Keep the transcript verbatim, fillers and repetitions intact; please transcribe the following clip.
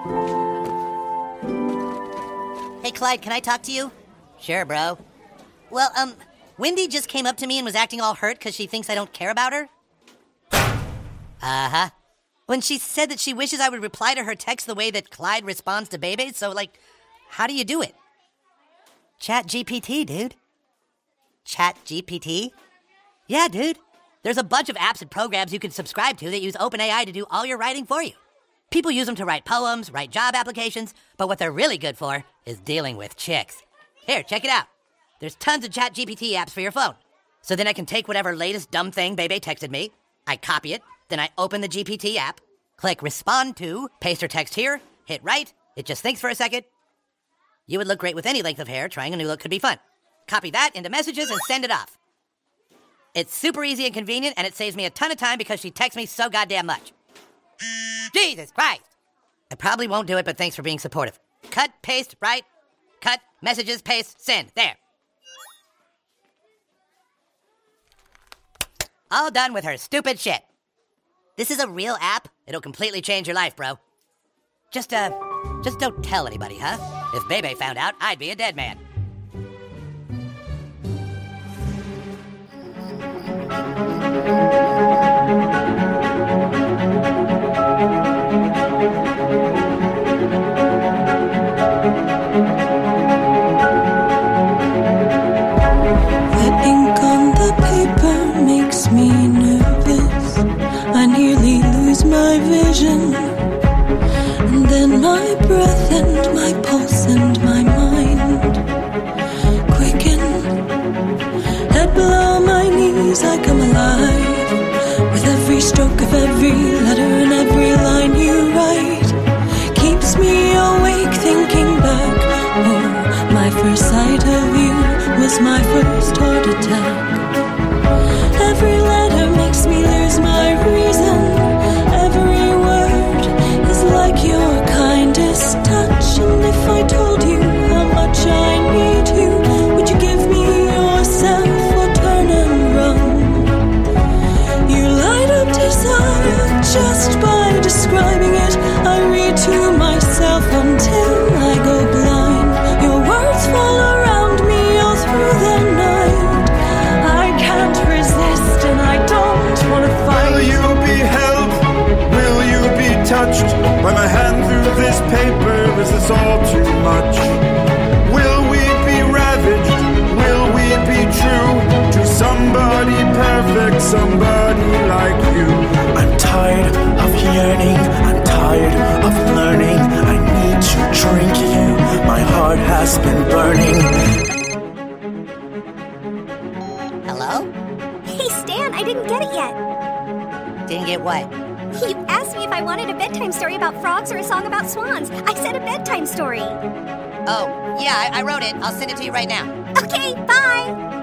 Hey, Clyde, can I talk to you? Sure, bro. Well, um, Wendy just came up to me and was acting all hurt because she thinks I don't care about her. Uh-huh. When she said that she wishes I would reply to her text the way that Clyde responds to Bebe, so, like, how do you do it? Chat G P T, dude. Chat G P T? Yeah, dude. There's a bunch of apps and programs you can subscribe to that use OpenAI to do all your writing for you. People use them to write poems, write job applications, but what they're really good for is dealing with chicks. Here, check it out. There's tons of Chat G P T apps for your phone. So then I can take whatever latest dumb thing Bebe texted me, I copy it, then I open the G P T app, click respond to, paste her text here, hit write, it just thinks for a second. You would look great with any length of hair, trying a new look could be fun. Copy that into messages and send it off. It's super easy and convenient, and it saves me a ton of time because she texts me so goddamn much. Jesus Christ! I probably won't do it, but thanks for being supportive. Cut, paste, write, cut, messages, paste, send. There. All done with her stupid shit. This is a real app. It'll completely change your life, bro. Just, uh, just don't tell anybody, huh? If Bebe found out, I'd be a dead man. The ink on the paper makes me nervous. I nearly lose my vision. And then my breath and my pulse and my mind quicken. Head below my knees, I come alive. With every stroke of every letter and every line you write keeps me awake thinking back. Oh, my first sight of you was my first heart attack. Every letter makes me lose my reason. Every word is like your kindest touch. And if I told you how much I need you, would you give me yourself or turn and run? You light up desire just by describing it. I read to myself until I go blind. Your words fall around me all through the night. I can't resist and I don't want to fight. Will you be held? Will you be touched by my hand through this paper? Is this all too much? Will we be ravaged? Will we be true to somebody perfect, somebody like you? I'm tired of yearning, I'm tired of learning. I need to drink you, my heart has been burning. Hello? Hey, Stan, I didn't get it yet. Didn't get what? He asked me if I wanted a bedtime story about frogs or a song about swans. I said a bedtime story. Oh, yeah, I, I wrote it. I'll send it to you right now. Okay, bye.